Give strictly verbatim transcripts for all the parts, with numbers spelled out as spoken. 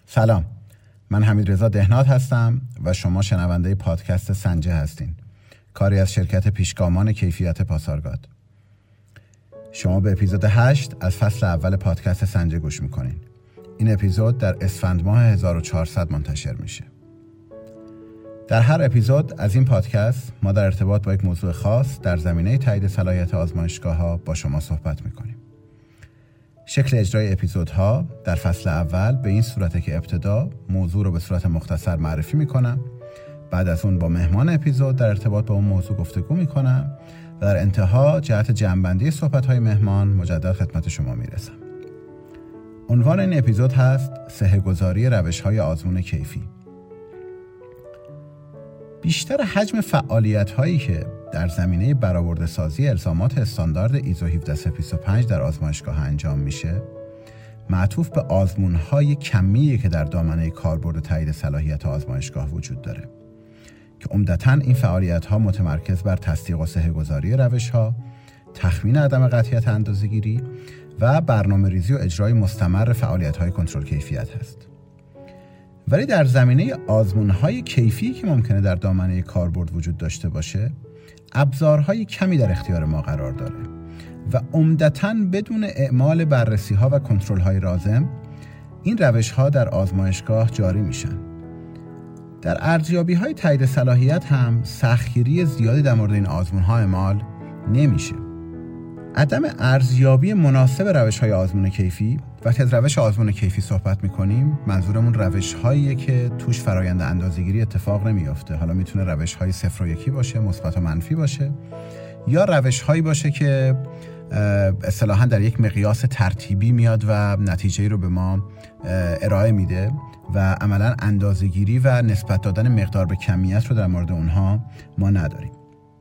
سلام، من حمیدرضا دهنات هستم و شما شنونده پادکست سنجه هستین، کاری از شرکت پیشگامان کیفیت پاسارگاد. شما به اپیزود هشت از فصل اول پادکست سنجه گوش میکنین. این اپیزود در اسفند ماه هزار و چهارصد منتشر میشه. در هر اپیزود از این پادکست ما در ارتباط با یک موضوع خاص در زمینه تایید صلاحیت آزمایشگاه‌ها با شما صحبت میکنیم. شکل اجرای اپیزودها در فصل اول به این صورته که ابتدا موضوع رو به صورت مختصر معرفی میکنم، بعد از اون با مهمان اپیزود در ارتباط با اون موضوع گفتگو میکنم و در انتها جهت جمع‌بندی صحبت‌های مهمان مجدد خدمت شما میرسم. عنوان این اپیزود هست صحه‌گذاری روش‌های آزمون کیفی. بیشتر حجم فعالیت‌هایی که در زمینه برآورده‌سازی الزامات استاندارد ایزو هفده صد و بیست و پنج در آزمایشگاه انجام میشه، معطوف به آزمون‌های کمیه که در دامنه کاربرد تایید صلاحیت آزمایشگاه وجود داره که عمدتاً این فعالیت‌ها متمرکز بر تصدیق و صحه‌گذاری روش‌ها، تخمین عدم قطعیت اندازه‌گیری و برنامه‌ریزی و اجرای مستمر فعالیت‌های کنترل کیفیت هست. ولی در زمینه آزمون‌های کیفی که ممکنه در دامنه کاربرد وجود داشته باشه، ابزارهای کمی در اختیار ما قرار داره و عمدتاً بدون اعمال بررسی‌ها و کنترل‌های لازم این روش‌ها در آزمایشگاه جاری میشن. در ارزیابی‌های تایید صلاحیت هم سختگیری زیادی در مورد این آزمون‌ها اعمال نمیشه. عدم ارزیابی مناسب روش‌های آزمون کیفی، وقتی از روش آزمون کیفی صحبت می‌کنیم منظورمون روش‌هاییه که توش فرآیند اندازه‌گیری اتفاق نمی‌افته. حالا میتونه روش‌های صفر و یکی باشه، مثبت و منفی باشه، یا روش‌هایی باشه که اصطلاحاً در یک مقیاس ترتیبی میاد و نتیجه‌ای رو به ما ارائه میده و عملاً اندازه‌گیری و نسبت دادن مقدار به کمیت رو در مورد اونها ما نداریم.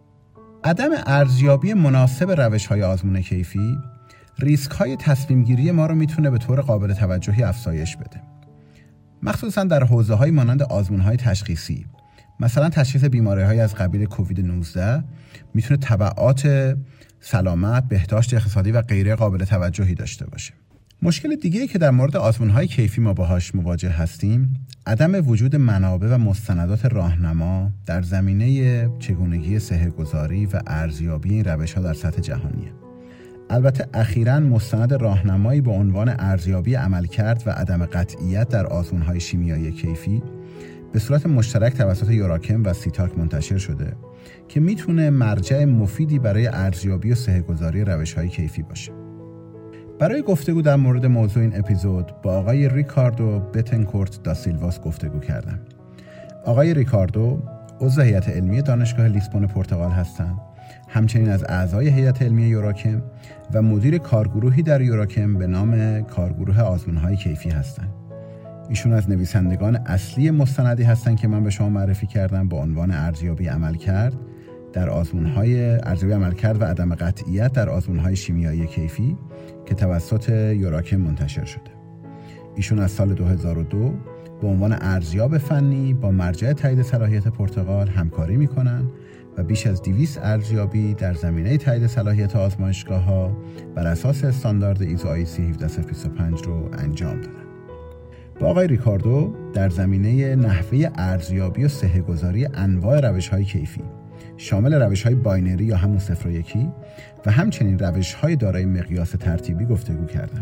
عدم ارزیابی مناسب روش‌های آزمون کیفی ریسک‌های تصمیم‌گیری ما رو میتونه به طور قابل توجهی افزایش بده. مخصوصاً در حوزه‌های مانند آزمون‌های تشخیصی، مثلا تشخیص بیماری‌های از قبیل کووید نوزده میتونه تبعات سلامت، بهداشت اقتصادی و غیره قابل توجهی داشته باشه. مشکل دیگه‌ای که در مورد آزمون‌های کیفی ما باهاش مواجه هستیم، عدم وجود منابع و مستندات راهنما در زمینه چگونگی صحه‌گذاری و ارزیابی این روش‌ها در سطح جهانیه. البته اخیراً مستند راهنمایی با عنوان ارزیابی عملکرد و عدم قطعیت در آزمون‌های شیمیایی کیفی به صورت مشترک توسط یوراکم و سیتاک منتشر شده که میتونه مرجع مفیدی برای ارزیابی و صحه‌گذاری روش‌های کیفی باشه. برای گفتگو در مورد موضوع این اپیزود با آقای ریکاردو بتنکورت دا سیلواس گفتگو کردم. آقای ریکاردو عضو هیئت علمی دانشگاه لیسبون پرتغال هستند، همچنین از اعضای هیئت علمی یوراکم و مدیر کارگروهی در یوراکم به نام کارگروه آزمون‌های کیفی هستند. ایشون از نویسندگان اصلی مستندی هستند که من به شما معرفی کردم با عنوان ارزیابی عملکرد در آزمون‌های ارزیابی عملکرد و عدم قطعیت در آزمون‌های شیمیایی کیفی که توسط یوراکم منتشر شده. ایشون از سال دو هزار و دو به عنوان ارزیاب فنی با مرجع تایید صلاحیت پرتغال همکاری می‌کنن و بیش از دویست ارزیابی در زمینه تایید صلاحیت آزمایشگاه‌ها بر اساس استاندارد ایزو آی سی هفده صد و بیست و پنج رو انجام دادن. با آقای ریکاردو در زمینه نحوه ارزیابی و صحه‌گذاری انواع روش‌های کیفی شامل روش‌های باینری یا همون صفر و یکی و همچنین روش‌های دارای مقیاس ترتیبی گفتگو کردم.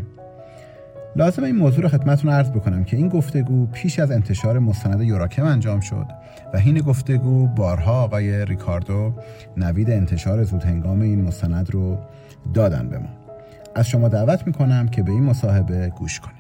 لازم این موضوع رو خدمتتون عرض بکنم که این گفتگو پیش از انتشار مستند یوراکم انجام شد و حین گفتگو بارها آقای ریکاردو نوید انتشار زودهنگام این مستند رو دادن به ما. از شما دعوت میکنم که به این مصاحبه گوش کنید.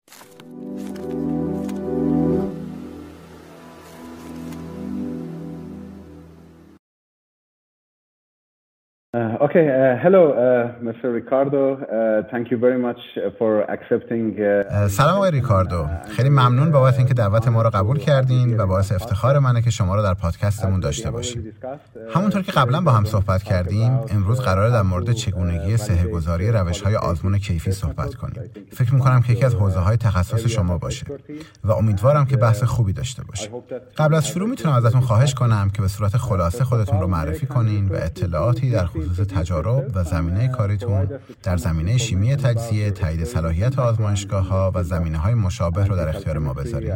Uh, okay, uh, hello, uh, Mister Ricardo. Uh, thank you very much for accepting. Uh, سلام آقای ریکاردو. خیلی ممنون بابت اینکه دعوت ما رو قبول کردین و باعث افتخار منه که شما رو در پادکستمون داشته باشیم. همونطور که قبلا با هم صحبت کردیم، امروز قراره در مورد چگونگی صحه‌گذاری روش‌های آزمون کیفی صحبت کنیم. فکر می‌کنم که یکی از حوزه‌های تخصص شما باشه و امیدوارم که بحث خوبی داشته باشه. قبل از شروع میتونم ازتون خواهش کنم که به صورت خلاصه خودتون رو معرفی کنین و اطلاعاتی در خصوص خصوص تجارب و زمینه کاریتون در زمینه شیمی تجزیه، تایید صلاحیت آزمایشگاه‌ها و زمینه‌های مشابه رو در اختیار ما بذارید.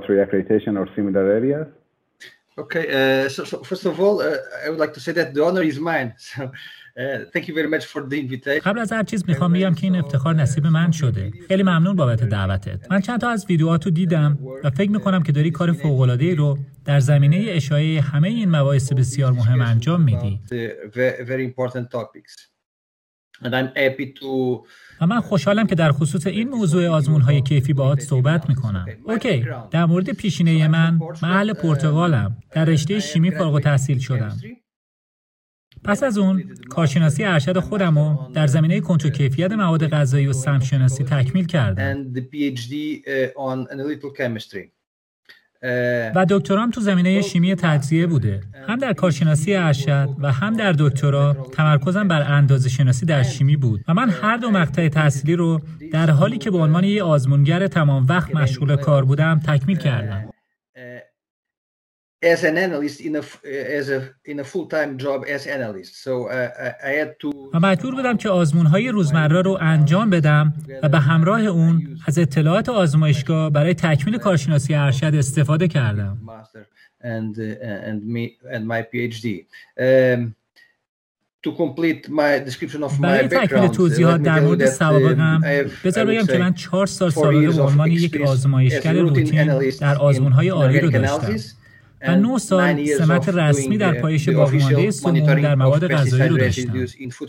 Okay, uh, so, so first of all, uh, I would like to say that the honor is mine. So, uh, thank you very much for the invitation. قبل از هر چیز میخوام بگم که این افتخار نصیب من شده. خیلی ممنون بابت دعوتت. من چند تا از ویدیوهاتو دیدم و فکر میکنم که داری کار فوق‌العاده‌ای رو در زمینه اشاعه همه این مباحث بسیار مهم انجام میدی. Very important topics. And I'm happy to و من خوشحالم که در خصوص این موضوع آزمون‌های کیفی باهات صحبت می‌کنم. اوکی، در مورد پیشینه من، من اهل پرتغالم. در رشته شیمی فارغ التحصیل شدم. پس از اون، کارشناسی ارشد خودم رو در زمینه کنترل کیفیت مواد غذایی و سمشناسی تکمیل کردم. و دکترام تو زمینه شیمی تجزیه بوده. هم در کارشناسی ارشد و هم در دکترا تمرکزم بر اندازه‌شناسی در شیمی بود و من هر دو مقطع تحصیلی رو در حالی که به عنوان یک آزمونگر تمام وقت مشغول کار بودم تکمیل کردم. as an analyst in a as a in a full-time job as analyst. So uh, I had to و مجبور بودم که آزمون‌های روزمره رو انجام بدم و به همراه اون از اطلاعات آزمایشگاه برای تکمیل کارشناسی ارشد استفاده کردم. and uh, and me and my PhD. Um, to complete my description of my برای تکمیل توضیحات در مورد سوابقم بذار بگم که من چهار سال سابقه به عنوان یک آزمایشگر روتین در آزمون‌های عالی رو داشتم. و نه سال سمت رسمی در پایش باقیمانده سموم در مواد غذایی رو داشتم.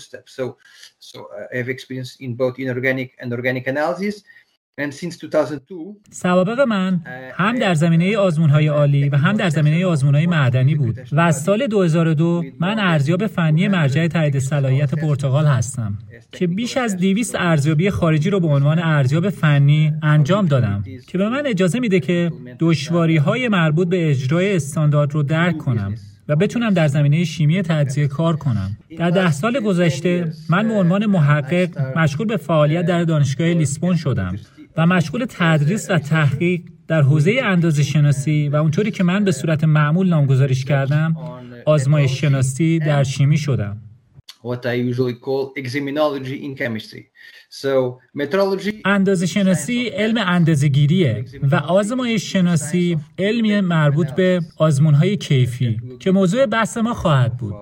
سوابق من هم در زمینه آزمون‌های عالی و هم در زمینه آزمون‌های معدنی بود و از سال دو هزار و دو من ارزیاب فنی مرجع تایید صلاحیت پرتغال هستم که بیش از دویست ارزیابی خارجی رو به عنوان ارزیاب فنی انجام دادم که به من اجازه میده که دشواری‌های مربوط به اجرای استاندارد رو درک کنم و بتونم در زمینه شیمی تجزیه کار کنم. در ده سال گذشته من به عنوان محقق مشغول به فعالیت در دانشگاه لیسبون شدم و مشغول تدریس و تحقیق در حوزه اندازه‌شناسی و اونطوری که من به صورت معمول نامگذاریش کردم آزمایش شناسی در شیمی شدم. What I usually call examinology in chemistry. So metrology اندازه شناسی علم اندازه‌گیریه و آزمایش شناسی علمی مربوط به آزمون‌های کیفی که موضوع بحث ما خواهد بود.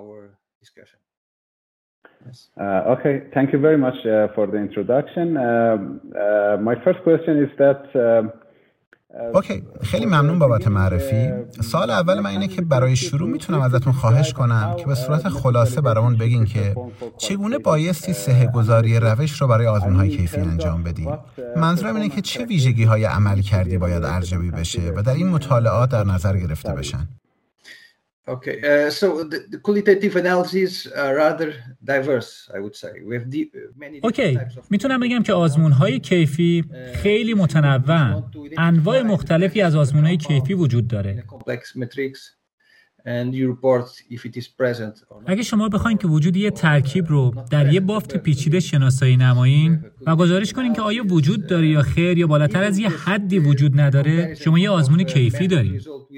Uh, okay, thank you very much uh, for the introduction. Uh, uh, my first question is that uh, اوکی، خیلی ممنون بابت معرفی. سوال اول من اینه که برای شروع میتونم ازتون خواهش کنم که به صورت خلاصه برامون بگین که چگونه بایستی صحه گذاری روش رو برای آزمون‌های کیفی انجام بدیم. منظورم اینه که چه ویژگی‌های عمل کردی باید ارزیابی بشه و در این مطالعات در نظر گرفته بشن. Okay, uh, so the, the qualitative analyses are rather diverse, I would say. We have deep, many اوکی، میتونم بگم که آزمون‌های کیفی خیلی متنوعن. انواع مختلفی از آزمون‌های کیفی وجود داره. اگه شما بخواید که وجود یه ترکیب رو در یه بافت پیچیده شناسایی نمایین و گزارش کنین که آیا وجود داره یا خیر یا بالاتر از یه حدی وجود نداره، شما یه آزمون کیفی دارید.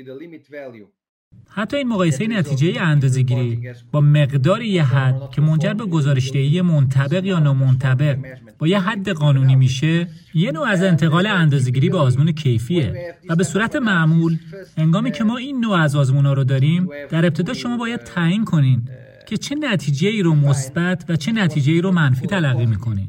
حتی این مقایسه نتیجه اندازه‌گیری با مقدار یه حد که منجر به گزارش‌دهی منطبق یا نامنطبق با یه حد قانونی میشه، یه نوع از انتقال اندازه‌گیری به آزمون کیفیه و به صورت معمول هنگامی که ما این نوع از آزمون‌ها رو داریم، در ابتدا شما باید تعیین کنین که چه نتیجه‌ای رو مثبت و چه نتیجه‌ای رو منفی تلقی می‌کنین.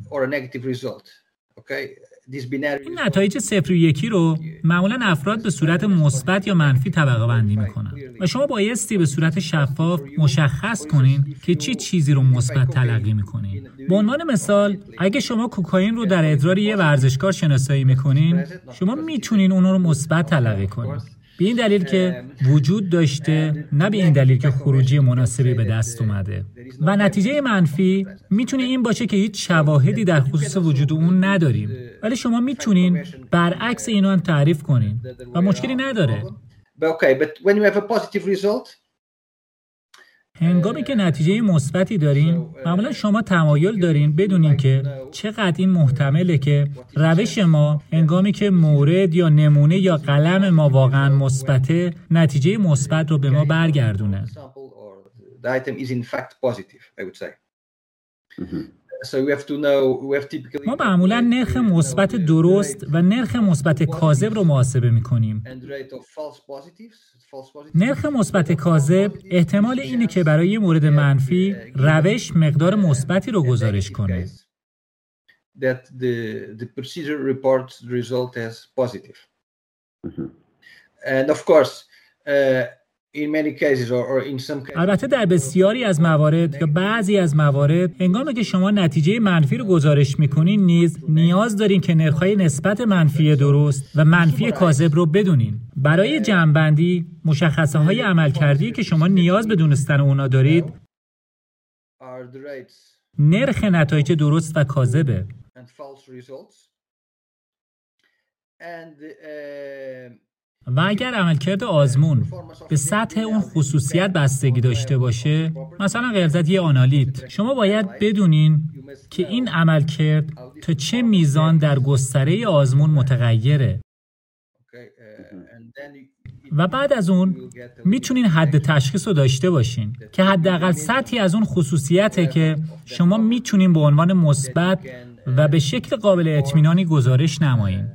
این نتایج صفر و یکی رو معمولاً افراد به صورت مثبت یا منفی طبقه بندی میکنن و شما بایستی به صورت شفاف مشخص کنین که چه چی چیزی رو مثبت تلقی میکنین. به عنوان مثال، اگه شما کوکائین رو در ادرار یه ورزشکار شناسایی میکنین، شما میتونین اون رو مثبت تلقی کنین. به این دلیل که وجود داشته، نه به این دلیل که خروجی مناسبی به دست اومده. و نتیجه منفی میتونه این باشه که هیچ شواهدی در خصوص وجود اون نداریم، ولی شما میتونین برعکس اینو هم تعریف کنین و مشکلی نداره. هنگامی که نتیجه مثبتی دارین، معمولا شما تمایل دارین بدونین که چقدر این محتمله که روش ما هنگامی که مورد یا نمونه یا قلم ما واقعا مثبته، نتیجه مثبت رو به ما برگردونه. ما معمولا نرخ مثبت درست و نرخ مثبت کاذب رو محاسبه می‌کنیم. نرخ مثبت کاذب احتمال اینه که برای یه مورد منفی روش مقدار مثبتی رو گزارش کنه. البته در بسیاری از موارد یا بعضی از موارد هنگامی که شما نتیجه منفی رو گزارش میکنین نیز نیاز دارین که نرخ‌های نسبت منفی درست و منفی کاذب رو بدونین. برای جمع‌بندی مشخصه‌های عملکردی که شما نیاز به دونستن اونا دارید نرخ نتایج درست و کاذبه. و اگر عملکرد آزمون به سطح اون خصوصیت بستگی داشته باشه، مثلا غلظت یه آنالیت، شما باید بدونین که این عملکرد تا چه میزان در گستره آزمون متغیره. و بعد از اون میتونین حد تشخیص رو داشته باشین که حداقل سطحی از اون خصوصیته که شما میتونین به عنوان مثبت و به شکل قابل اطمینانی گزارش نمایین.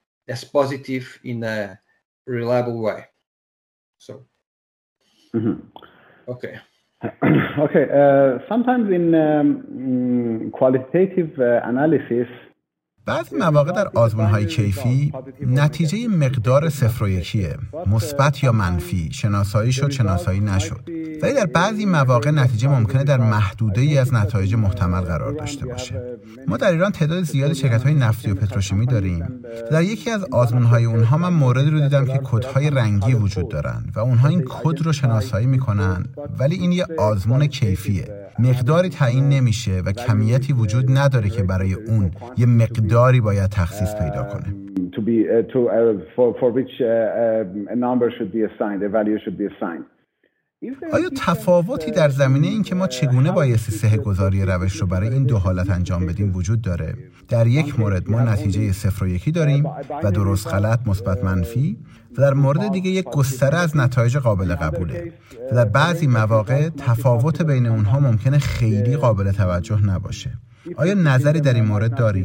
reliable way. So, mm-hmm. okay. okay. Uh, sometimes in um, qualitative uh, analysis, بعضی مواقع در آزمون‌های کیفی نتیجه مقدار صفر و یکیه، مثبت یا منفی، شناسایی شد شناسایی نشد. ولی در بعضی مواقع نتیجه ممکنه در محدوده‌ای از نتایج محتمل قرار داشته باشه. ما در ایران تعداد زیادی شرکت‌های نفتی و پتروشیمی داریم. در یکی از آزمون‌های اونها من موردی رو دیدم که کدهای رنگی وجود دارن و اونها این کد رو شناسایی می‌کنن، ولی این یه آزمون کیفیه. مقداری تعیین نمیشه و کمیتی وجود نداره که برای اون یه مقداری باید تخصیص پیدا کنه. to be uh, to uh, for for which uh, uh, a number should be assigned, a value should be assigned. آیا تفاوتی در زمینه این که ما چگونه بایستی صحه‌گذاری روش رو برای این دو حالت انجام بدیم وجود داره؟ در یک مورد ما نتیجه صفر و یکی داریم و درست غلط مثبت منفی و در مورد دیگه یک گستره از نتایج قابل قبوله و در بعضی مواقع تفاوت بین اونها ممکنه خیلی قابل توجه نباشه. آیا نظری در این مورد داریم؟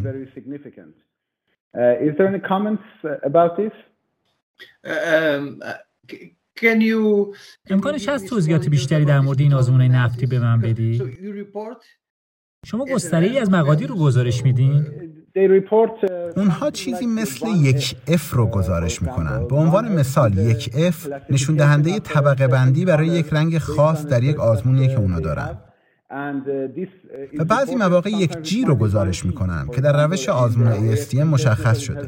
Is there any comments about this? Can you امکانش هست توضیحات بیشتری در مورد این آزمون‌های نفتی به من بدی؟ شما گستره‌ای از مقادیر رو گزارش میدین؟ اونها چیزی مثل یک اف رو گزارش میکنن. به عنوان مثال یک اف نشون دهنده طبقه بندی برای یک رنگ خاص در یک آزمونیه که اونا دارن. و بعضی مواقع یک جی رو گزارش میکنن که در روش آزمون ای اس تی ام مشخص شده.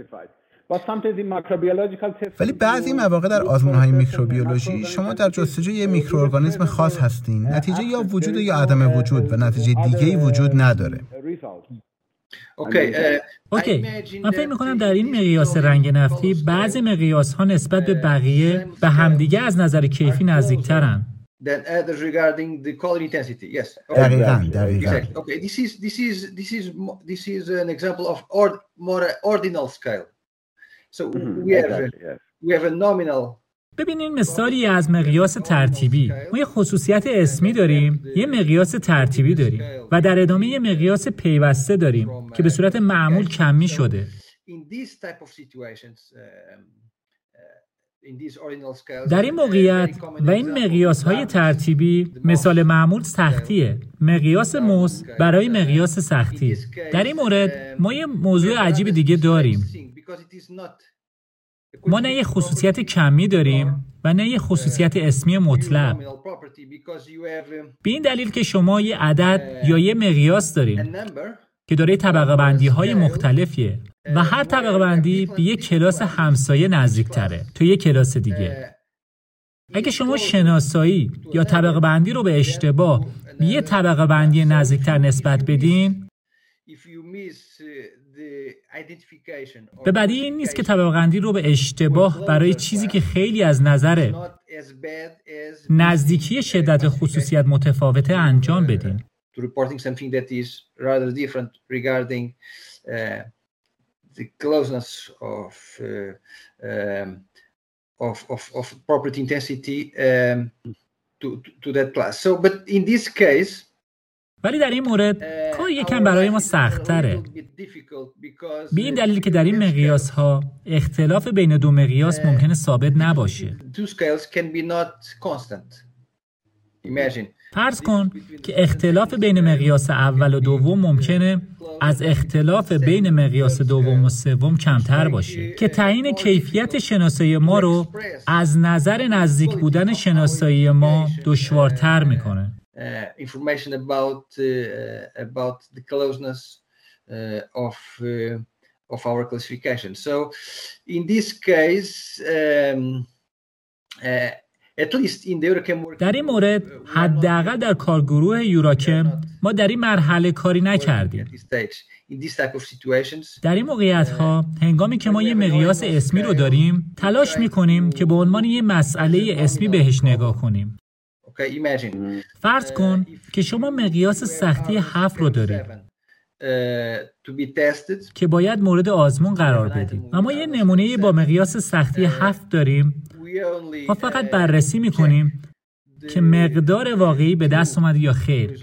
ولی بعضی مواقع در آزمون‌های میکروبیولوژی شما در جستجوی یک میکروارگانیسم خاص هستین، نتیجه یا وجود یا عدم وجود و نتیجه دیگه‌ای وجود نداره. اوکی اوکی من فکر می‌کنم در این مقیاس رنگ نفتی بعضی مقیاس‌ها نسبت به بقیه به همدیگه از نظر کیفی نزدیک‌ترن. Then others regarding the color intensity. Yes. دقیقاً دقیقاً. Okay. This is this is this is this is an example of ord, more ordinal scale. So we have we have a nominal. ببینین مثالی از مقیاس ترتیبی. ما یه خصوصیت اسمی داریم، یه مقیاس ترتیبی داریم و در ادامه یه مقیاس پیوسته داریم که به صورت معمول کمی شده. در این موقعیت و این مقیاس‌های ترتیبی مثال معمول سختیه. مقیاس موس برای مقیاس سختی. در این مورد ما یه موضوع عجیب دیگه داریم. ما نه یه خصوصیت کمی داریم و نه یه خصوصیت اسمی مطلق. به این دلیل که شما یه عدد یا یه مقیاس دارین که داره طبقه بندی های مختلفیه و هر طبقه بندی به یک کلاس همسایه نزدیک تره تو یک کلاس دیگه. اگه شما شناسایی یا طبقه بندی رو به اشتباه به یه طبقه بندی نزدیکتر نسبت بدین، به بدی این نیست که طبقه بندی رو به اشتباه برای چیزی که خیلی از نظر نزدیکی شدت خصوصیت متفاوته انجام بدین. To reporting something that is rather different regarding uh, the closeness of, uh, um, of of of property intensity um, to, to to that class. So, but in this case, ولی در این مورد کار یکم برای ما سخت‌تره. به این دلیل که در این مقیاس‌ها اختلاف بین دو مقیاس ممکنه ثابت نباشه. فرض کن که اختلاف بین مقیاس اول و دوم ممکنه از اختلاف بین مقیاس دوم و سوم کمتر باشه که تعیین کیفیت شناسایی ما رو از نظر نزدیک بودن شناسایی ما دشوارتر میکنه. Information about about the closeness of of our classification. So in this case um, در این مورد حداقل در کارگروه یوراکم ما در این مرحله کاری نکردیم. در این موقعیت‌ها هنگامی که ما یه مقیاس اسمی رو داریم تلاش می‌کنیم که به عنوان یه مسئله اسمی بهش نگاه کنیم. فرض کن که شما مقیاس سختی هفت رو دارید که باید مورد آزمون قرار بدیم. اما یه نمونه با مقیاس سختی هفت داریم. ما فقط بررسی میکنیم که مقدار واقعی به دست اومده یا خیر.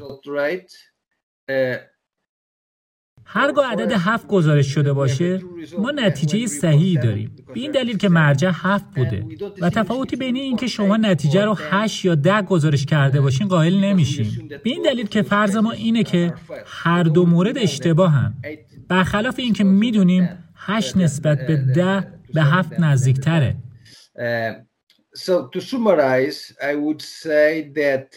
هرگاه عدد هفت گزارش شده باشه ما نتیجه صحیحی داریم، به این دلیل که مرجع هفت بوده و تفاوتی بین این که شما نتیجه رو هشت یا ده گزارش کرده باشین قائل نمیشیم، به این دلیل که فرض ما اینه که هر دو مورد اشتباهن، برخلاف این که میدونیم هشت نسبت به ده به هفت نزدیکتره. Uh, so to summarize, I would say that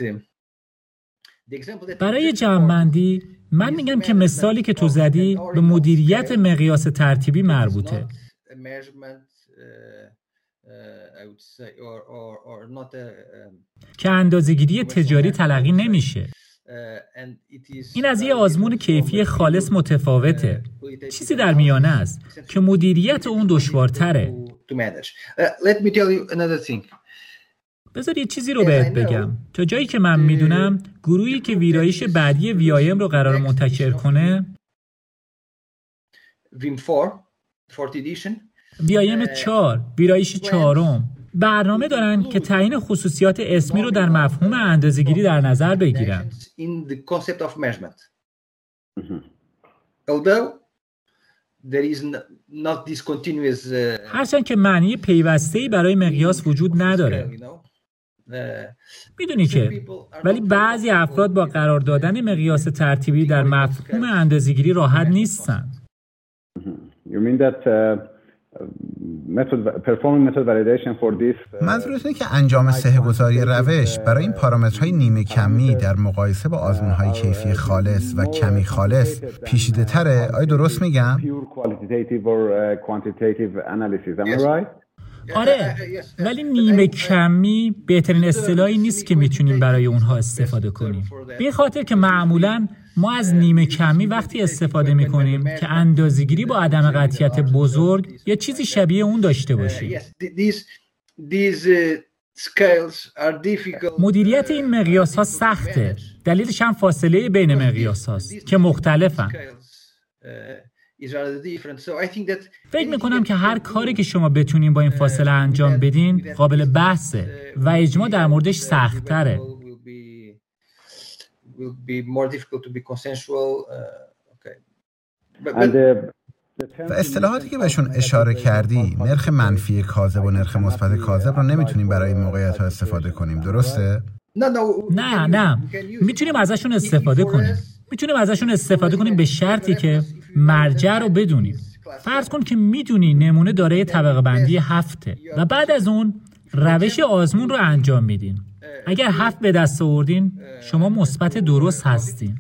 برای جمع‌بندی من میگم که مثالی که تو زدی به مدیریت مقیاس ترتیبی مربوطه. که اندازه‌گیری تجاری تلقی نمیشه. این از یه آزمون کیفی خالص متفاوته. چیزی در میانه است که مدیریت اون دشوارتره. بذار یه چیزی رو بهت بگم. تا جایی که من میدونم گروهی که ویرایش بعدی وی آی ام رو قرار منتشر کنه وی آی ام چهار، ویرایش چهارم، برنامه دارن که تعیین خصوصیات اسمی رو در مفهوم اندازه‌گیری در نظر بگیرن. هرچند که معنی پیوسته‌ای برای مقیاس وجود نداره. میدونی که ولی بعضی افراد با قرار دادن مقیاس ترتیبی در مفهوم اندازه‌گیری راحت نیستن. منظورت اینه که انجام صحه‌گذاری روش برای این پارامترهای نیمه کمی در مقایسه با آزمون‌های کیفی خالص و کمی خالص پیچیده تره؟ آیا درست میگم؟ آره، ولی نیمه کمی بهترین اصطلاحی نیست که میتونیم برای اونها استفاده کنیم. به این خاطر که معمولاً ما از نیمه کمی وقتی استفاده میکنیم که اندازه‌گیری با عدم قطعیت بزرگ یا چیزی شبیه اون داشته باشه. مدیریت این مقیاس ها سخته. دلیلش هم فاصله بین مقیاس هاست که مختلفن. فکر میکنم که هر کاری که شما بتونین با این فاصله انجام بدین قابل بحثه و اجماع در موردش سخت تره. و اصطلاحاتی که بهشون اشاره کردی، نرخ منفی کاذب و نرخ مثبت کاذب رو نمیتونیم برای این موقعیت‌ها استفاده کنیم، درسته؟ نه نه میتونیم ازشون استفاده کنیم. میتونیم ازشون استفاده کنیم به شرطی که مرجع رو بدونیم. فرض کن که میدونی نمونه دارای طبقه بندی هفته و بعد از اون روش آزمون رو انجام میدین. اگر هفت به دست آوردین شما مثبت درست هستین.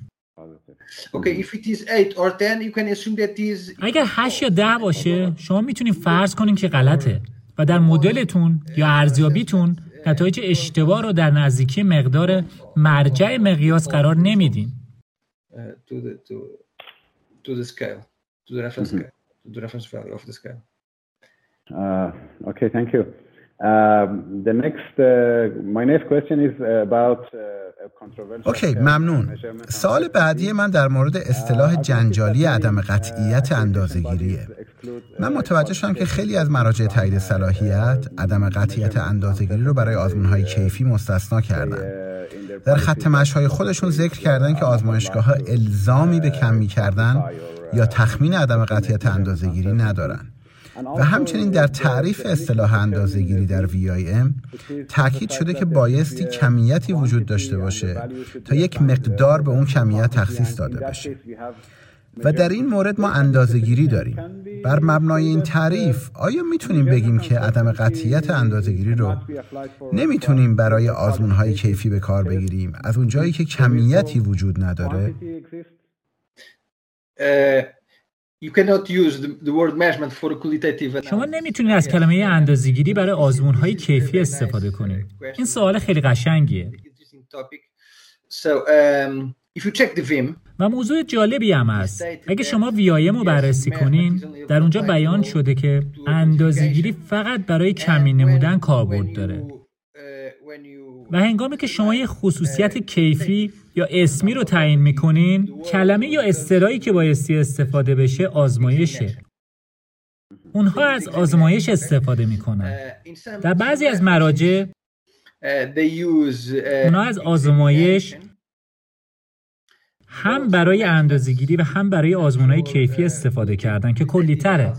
اگر هشت یا ده باشه شما میتونین فرض کنین که غلطه و در مدلتون یا ارزیابیتون نتایج اشتباه رو در نزدیکی مقدار مرجع مقیاس قرار نمیدین. to the to to the scale, to the reference scale, to the reference value of the scale. Uh, okay, thank you. Uh, the next, uh, my next question is about uh, controversial. اوکی، ممنون. سوال بعدی من در مورد اصطلاح جنجالی عدم قطعیت اندازه‌گیریه. من متوجه شدم که خیلی از مراجع تایید صلاحیت عدم قطعیت اندازه‌گیری رو برای آزمون‌های کیفی مستثنا کردن. در خط مشی‌های خودشون ذکر کردن که آزمایشگاه‌ها الزامی به کمی کردن یا تخمین عدم قطعیت اندازه‌گیری ندارن. و همچنین در تعریف اصطلاح اندازه‌گیری در وی آی ام تاکید شده که بایستی کمیتی وجود داشته باشه تا یک مقدار به اون کمیت تخصیص داده بشه. و در این مورد ما اندازه‌گیری داریم. بر مبنای این تعریف آیا میتونیم بگیم که عدم قطعیت اندازه‌گیری رو نمیتونیم برای آزمون‌های کیفی به کار بگیریم از اونجایی که کمیتی وجود نداره؟ شما نمیتونید از کلمه اندازه‌گیری برای آزمون‌های کیفی استفاده کنید. این سوال خیلی قشنگیه. و موضوع جالبی هم هست. اگه شما وی آی ام رو بررسی کنین، در اونجا بیان شده که اندازه‌گیری فقط برای کمی نمودن کاربرد داره. و هنگامی که شما یه خصوصیت کیفی یا اسمی رو تعیین میکنین، کلمه یا اصطلاحی که بایستی استفاده بشه آزمایشه. اونها از آزمایش استفاده میکنن. در بعضی از مراجع اونها از آزمایش هم برای اندازه‌گیری و هم برای آزمون‌های کیفی استفاده کردن که کلی‌تره.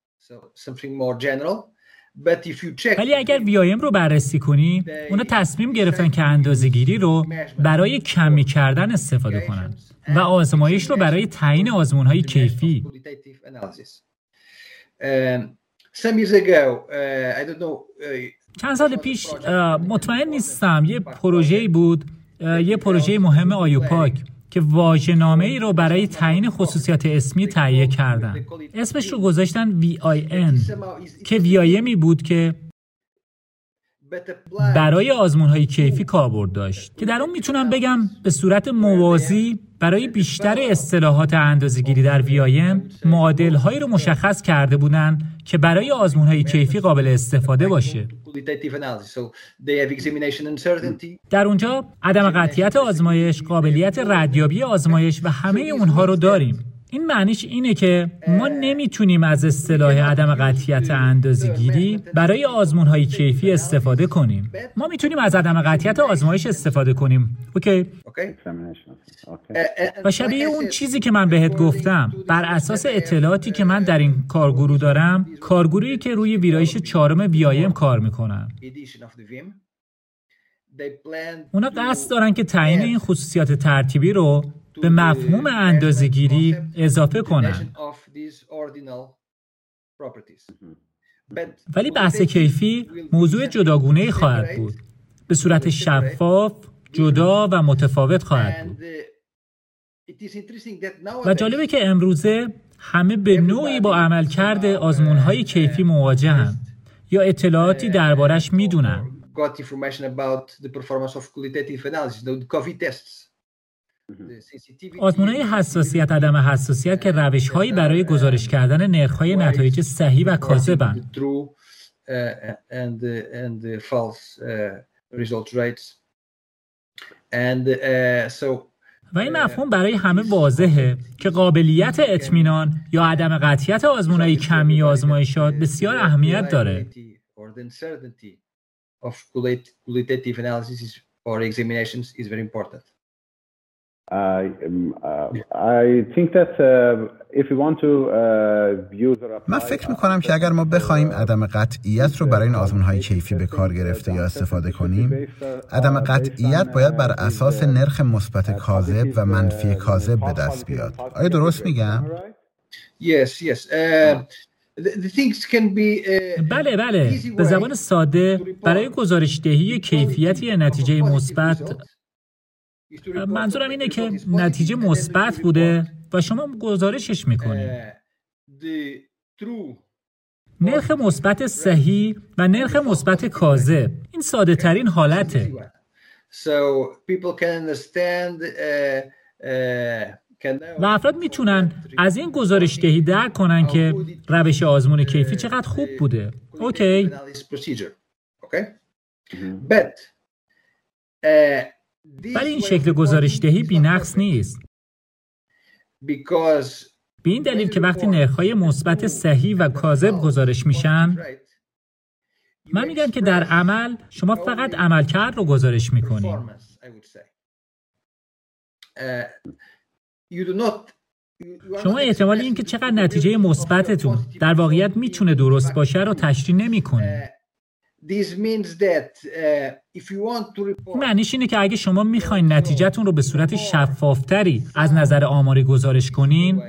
ولی اگر وی آی ام رو بررسی کنی، اونا تصمیم گرفتن که اندازه‌گیری رو برای کمی کردن استفاده کنن و آزمایش رو برای تعیین آزمون‌های کیفی. چند سال پیش مطمئن نیستم یه پروژه‌ای بود، یه پروژه مهم آیوپاک که واژه‌نامه‌ای رو برای تعیین خصوصیات اسمی تهیه کردن. اسمش رو گذاشتن وی آی ان که وی آی امی بود که برای آزمون‌های کیفی کاربرد داشت که در اون میتونم بگم به صورت موازی برای بیشتر اصطلاحات اندازه‌گیری در وی آی ام معادل‌هایی رو مشخص کرده بودن که برای آزمون‌های کیفی قابل استفاده باشه. در اونجا عدم قطعیت آزمایش، قابلیت ردیابی آزمایش و همه اونها رو داریم. این معنیش اینه که ما نمیتونیم از اصطلاح عدم قطعیت اندازه‌گیری برای آزمون‌های کیفی استفاده کنیم. ما میتونیم از عدم قطعیت آزمایش استفاده کنیم. اوکی؟ و شبیه اون چیزی که من بهت گفتم، بر اساس اطلاعاتی که من در این کارگروه دارم، کارگروهی که روی ویرایش چهارم وی آی ام کار میکنن، اونا قصد دارن که تعیین این خصوصیات ترتیبی رو به مفهوم اندازه‌گیری اضافه کنن. ولی بحث کیفی موضوع جداگونه‌ای خواهد بود. به صورت شفاف، جدا و متفاوت خواهد بود. و جالبه که امروزه همه به نوعی با عملکرد آزمون‌های کیفی مواجهن یا اطلاعاتی دربارش میدونن. آزمون‌های حساسیت، عدم حساسیت که روش‌هایی برای گزارش کردن نرخ‌های نتایج صحیح و کاذبند. و این مفهوم برای همه واضحه که قابلیت اطمینان یا عدم قطعیت آزمون‌های کمی آزمایشات بسیار اهمیت داره. من فکر میکنم که اگر ما بخوایم عدم قطعیت رو برای این آزمون‌های کیفی به کار گرفته یا استفاده کنیم، عدم قطعیت باید بر اساس نرخ مثبت کاذب و منفی کاذب به دست بیاد. آیا درست میگم؟ Yes, yes. Uh, the things can be uh, بله بله. به زبان ساده برای گزارش‌دهی کیفیت یا نتیجه مثبت، منظورم اینه که نتیجه مثبت بوده و شما گزارشش میکنید. نرخ مثبت صحیح و نرخ مثبت کاذب، این ساده ترین حالته. و افراد میتونن از این گزارش‌دهی درک کنن که روش آزمون کیفی چقدر خوب بوده. اوکی. ولی این شکل گزارش‌دهی بی‌نقص نیست. به این دلیل که وقتی نرخ‌های مثبت صحیح و کاذب گزارش میشن، من میگم که در عمل شما فقط عملکرد رو گزارش میکنید شما احتمال این که چقدر نتیجه مثبتتون در واقعیت میتونه درست باشه رو تشریح نمی‌کنید. این معنیش اینه که اگه شما میخواین نتیجهتون رو به صورت شفافتری از نظر آماری گزارش کنین،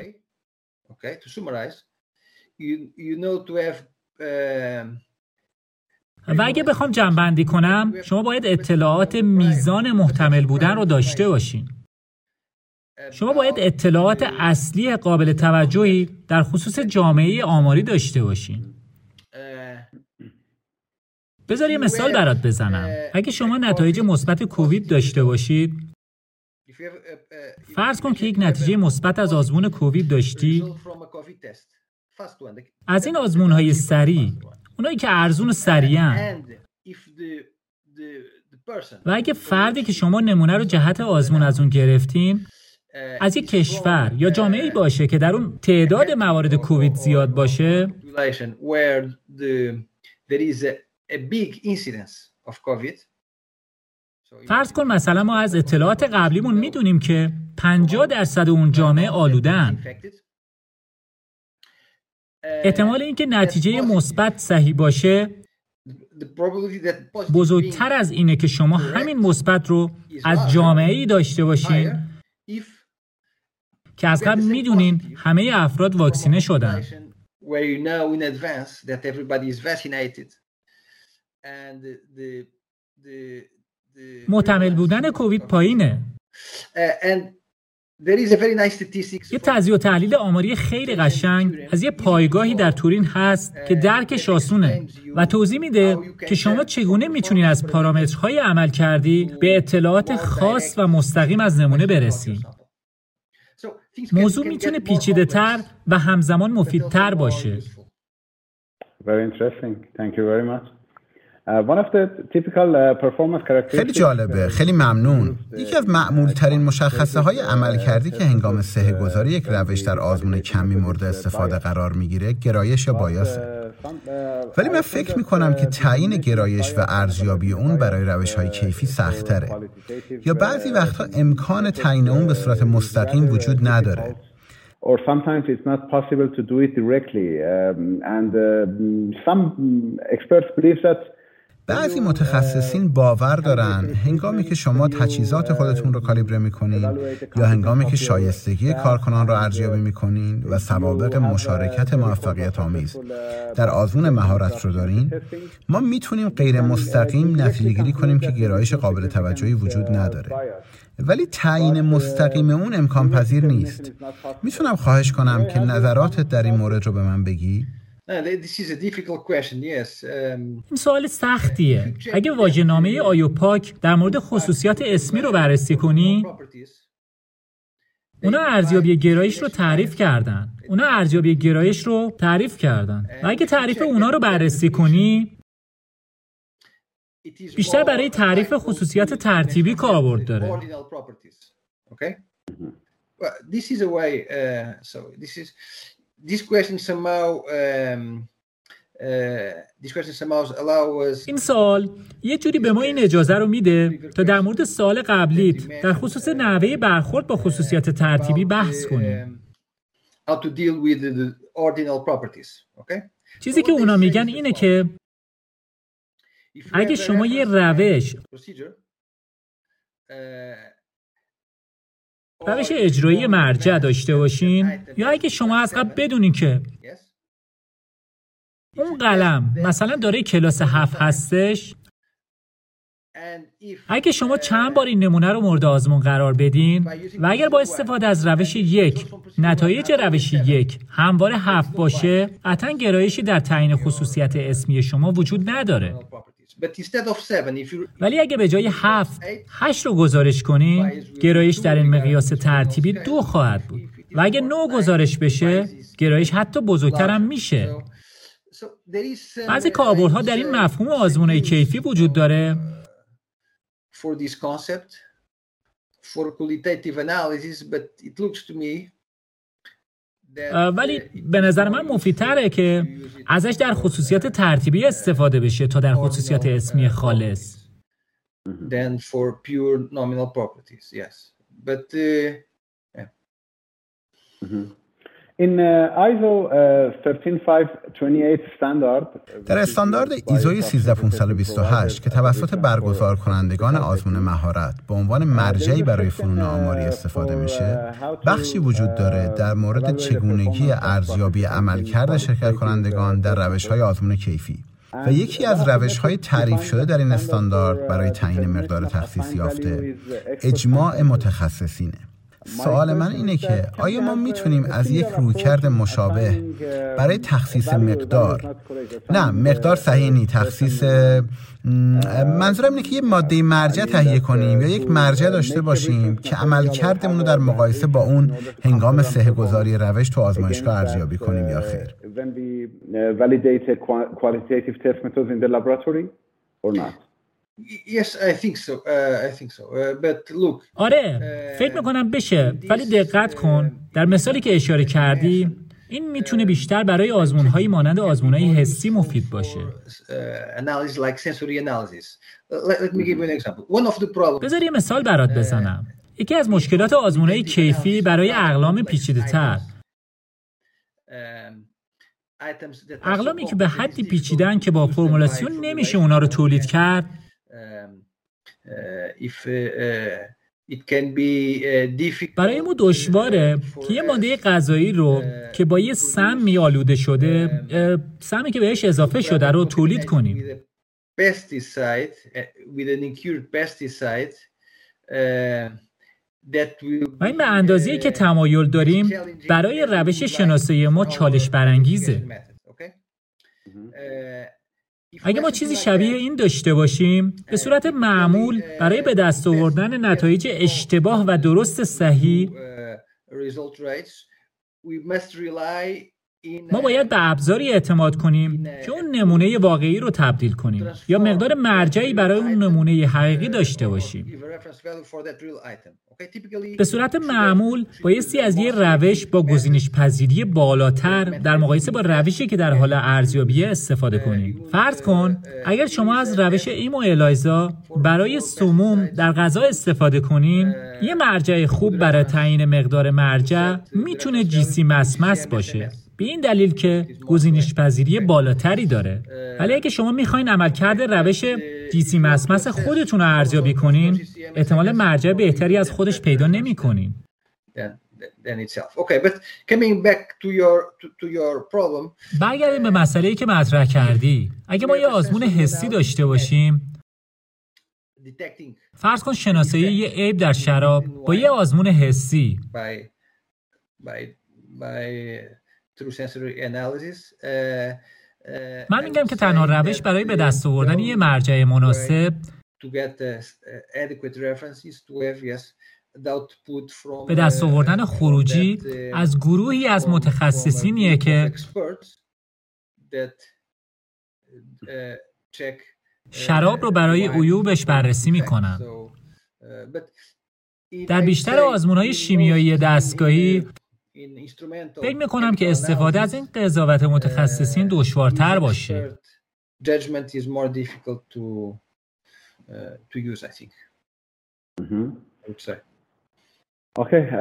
و اگه بخوام جمع‌بندی کنم، شما باید اطلاعات میزان محتمل بودن رو داشته باشین. شما باید اطلاعات اصلی قابل توجهی در خصوص جامعه آماری داشته باشین. بذار یه مثال برات بزنم. اگه شما نتایج مثبت کووید داشته باشید، فرض کن که یک نتیجه مثبت از آزمون کووید داشتی. از این آزمون‌های سریع، اونایی که ارزون و سریعن، و اگه فردی که شما نمونه رو جهت آزمون از اون گرفتین از یک کشور یا جامعه‌ای باشه که در اون تعداد موارد کووید زیاد باشه، فرض کن مثلا ما از اطلاعات قبلیمون میدونیم که پنجاه درصد اون جامعه آلودن. احتمال اینکه نتیجه مثبت صحیح باشه بزرگتر از اینه که شما همین مثبت رو از جامعه‌ای داشته باشین که از قبل میدونین همه افراد واکسینه شدن. محتمل بودن کووید پایینه. یه تجزیه و تحلیل آماری خیلی قشنگ از یه پایگاهی در تورین هست که درکش آسونه و توضیح میده که شما چگونه میتونین از پارامترهای عمل کردی به اطلاعات خاص و مستقیم از نمونه برسی. موضوع میتونه پیچیده تر و همزمان مفیدتر باشه. Very interesting. Thank you very much. خیلی جالبه، خیلی ممنون. یکی از معمول ترین مشخصه های عملکردی که هنگام صحه گذاری یک روش در آزمون کمی مورد استفاده قرار میگیره گرایش یا بایاسه. ولی من فکر میکنم که تعیین گرایش و ارزیابی اون برای روش های کیفی سخت‌تره، یا بعضی وقتها امکان تعیین اون به صورت مستقیم وجود نداره. Or sometimes it's not possible to do it directly, um, and uh, some experts believe that بعضی متخصصین باور دارن هنگامی که شما تجهیزات خودتون رو کالیبره میکنین یا هنگامی که شایستگی کارکنان رو ارزیابی میکنین و سوابق مشارکت موفقیت آمیز در آزمون مهارت رو دارین، ما میتونیم غیر مستقیم نتیجه گیری کنیم که گرایش قابل توجهی وجود نداره. ولی تعیین مستقیم اون امکان پذیر نیست. میتونم خواهش کنم که نظراتت در این مورد رو به من بگی؟ این سوال سختیه. اگه واژه‌نامه آیوپاک در مورد خصوصیات اسمی رو بررسی کنی، اونا ارزیابی گرایش رو تعریف کردن. اونا ارزیابی گرایش رو تعریف کردن. و اگه تعریف اونا رو بررسی کنی، بیشتر برای تعریف خصوصیات ترتیبی کاربرد داره. این سوال یه جوری به ما این اجازه رو میده تا در مورد سوال قبلیت در خصوص نحوه برخورد با خصوصیات ترتیبی بحث کنیم. چیزی که اونا میگن اینه که اگه شما یه روش روش اجرایی مرجع داشته باشین، یا اگه شما از قبل بدونین که اون قلم مثلا داره کلاس هفت هستش، اگه شما چند بار این نمونه رو مورد آزمون قرار بدین و اگر با استفاده از روش یک نتایج روش یک همواره هفت باشه، قطعاً گرایشی در تعیین خصوصیت اسمی شما وجود نداره. ولی اگه به جای هفت، هشت رو گزارش کنین، گرایش در این مقیاس ترتیبی دو خواهد بود. و اگه نو گزارش بشه، گرایش حتی بزرگتر هم میشه. بعضی کاربردها در این مفهوم آزمون‌های کیفی وجود داره ولی به نظر من مفیدتره که ازش در خصوصیات ترتیبی استفاده بشه تا در خصوصیات اسمی خالص. than for pure nominal properties. Yes, but uh, yeah. Mm-hmm. In uh, آیزو uh, یک سه پنج دو هشت standard در استاندارد ایزو سیزده هزار و پانصد و بیست و هشت که توسط برگزار کنندگان آزمون مهارت به عنوان مرجعی برای فنون آماری استفاده میشه، بخشی وجود داره در مورد چگونگی ارزیابی عملکرد شرکت کنندگان در روش‌های آزمون کیفی و یکی از روش‌های تعریف شده در این استاندارد برای تعیین مقدار تخصیص یافته اجماع متخصصینه. سوال من اینه که آیا ما میتونیم از یک رویکرد مشابه برای تخصیص مقدار، نه مقدار صحیح نی، تخصیص، منظورم اینه که یه ماده مرجع تهیه کنیم یا یک مرجع داشته باشیم که عملکردمون رو در مقایسه با اون هنگام صحه گذاری روش تو آزمایشگاه ارزیابی کنیم یا خیر؟ Yes, I think so. Uh, I think so. Uh, but look. آره، فکر میکنم بشه، ولی دقت کن. در مثالی که اشاره کردی، این میتونه بیشتر برای آزمون‌هایی مانند آزمون‌های حسی مفید باشه. Analysis like sensory analysis. Let me give you an example. One of the problems. بذار یه مثال برات بزنم. یکی از مشکلات آزمون‌های کیفی برای اقلام پیچیده‌تر، اقلامی که به حدی پیچیدن که با فرمولاسیون نمیشه اونا رو تولید کرد، برای ما دشواره که یه ماده غذایی رو که با یه سمی آلوده شده، سمی که بهش اضافه شده رو تولید کنیم. و این به اندازه‌ای که تمایل داریم برای روش شناسایی ما چالش برانگیزه. اگه ما چیزی شبیه این داشته باشیم، به صورت معمول برای به دست آوردن نتایج اشتباه و درست صحیح، ما باید به ابزاری اعتماد کنیم که اون نمونه واقعی رو تبدیل کنیم یا مقدار مرجعی برای اون نمونه حقیقی داشته باشیم. به صورت معمول بایستی از یه روش با گزینش پذیری بالاتر در مقایسه با روشی که در حال ارزیابی استفاده کنیم. فرض کن اگر شما از روش ایمو الایزا برای سموم در غذا استفاده کنین، یه مرجع خوب برای تعیین مقدار مرجع میتونه جیسی مسمس باشه، به این دلیل که گزینش پذیری بالاتری داره. ولی اگه شما میخواین عملکرد روش جیسی مسمس خودتون رو ارزیابی کنین، احتمال مرجع بهتری از خودش پیدا نمی کنین. برگردیم به مسئله‌ای که مطرح کردی. اگه ما یه آزمون حسی داشته باشیم، فرض کن شناسایی یه عیب در شراب با یه آزمون حسی من میگم که تنها روش برای به دست آوردن یه مرجع مناسب به دست آوردن خروجی از گروهی از متخصصینیه که شراب رو برای عیوبش بررسی میکنن. در بیشتر آزمون‌های شیمیایی دستگاهی فکر میکنم که استفاده از این قضاوت متخصصین دشوارتر باشه. اوکی.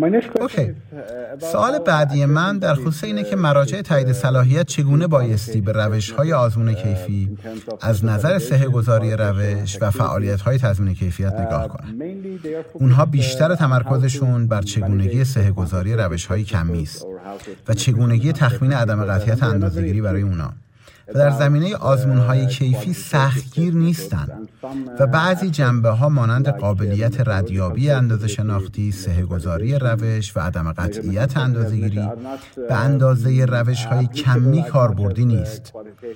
سوال بعدی من در خصوص اینه که مراجع تایید صلاحیت چگونه بایستی به روش‌های آزمون کیفی از نظر صحه‌گذاری روش و فعالیت‌های تضمین کیفیت نگاه کنن. اونها بیشتر تمرکزشون بر چگونگی صحه‌گذاری روش‌های کمی است و چگونگی تخمین عدم قطعیت اندازه‌گیری برای اونا. و در زمینه آزمون‌های کیفی سختگیر نیستند و بعضی جنبه‌ها مانند قابلیت ردیابی اندازه شناختی، صحه‌گذاری روش و عدم قطعیت اندازه‌گیری به اندازه روش‌های کمی کاربردی نیست.